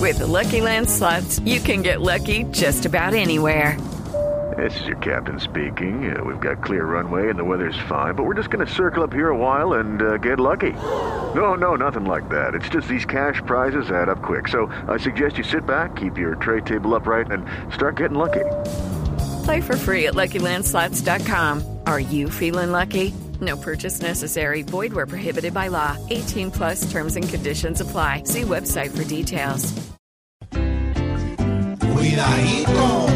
With the Lucky Land Slots, you can get lucky just about anywhere. This is your captain speaking. We've got clear runway and the weather's fine, but we're just going to circle up here a while and get lucky. No, nothing like that. It's just these cash prizes add up quick. So I suggest you sit back, keep your tray table upright, and start getting lucky. Play for free at LuckyLandSlots.com. Are you feeling lucky? No purchase necessary. Void where prohibited by law. 18 plus terms and conditions apply. See website for details. Cuidadito,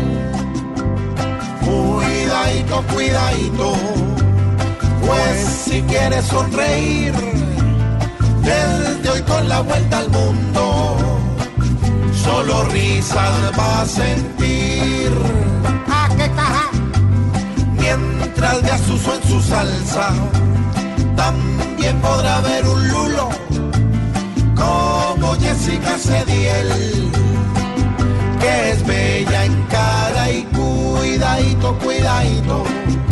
cuidadito, cuidadito. Pues si quieres sonreír, desde hoy con la vuelta al mundo, solo risas vas a sentir. ¡Ah, qué caja! Mientras de Asuso en su salsa, también podrá haber un lulo como Jessica Cediel, que es bella en cara y cuidadito, cuidadito.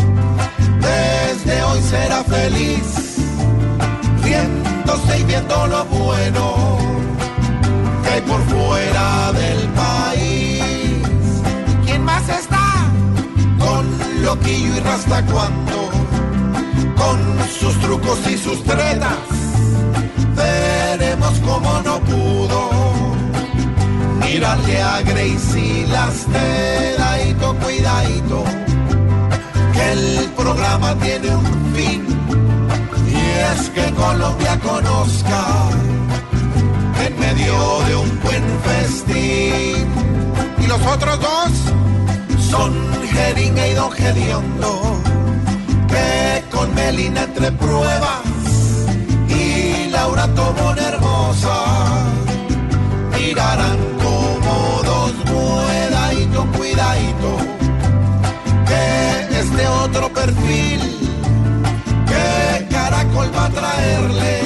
Desde hoy será feliz, riéndose y viendo lo bueno que hay por fuera del país. ¿Quién más está? Con Loquillo y Rasta Cuando, con sus trucos y sus tretas, veremos cómo no pudo mirarle a Gracie las dedadito, cuidadito, que el programa tiene un fin, y es que Colombia conozca en medio de un buen festín. Y los otros dos son Jeringa y Don Gediondo, que con Melina entre pruebas y Laura Tobón hermosa mirarán como dos cuidadito, cuidadito, que este otro perfil que Caracol va a traerle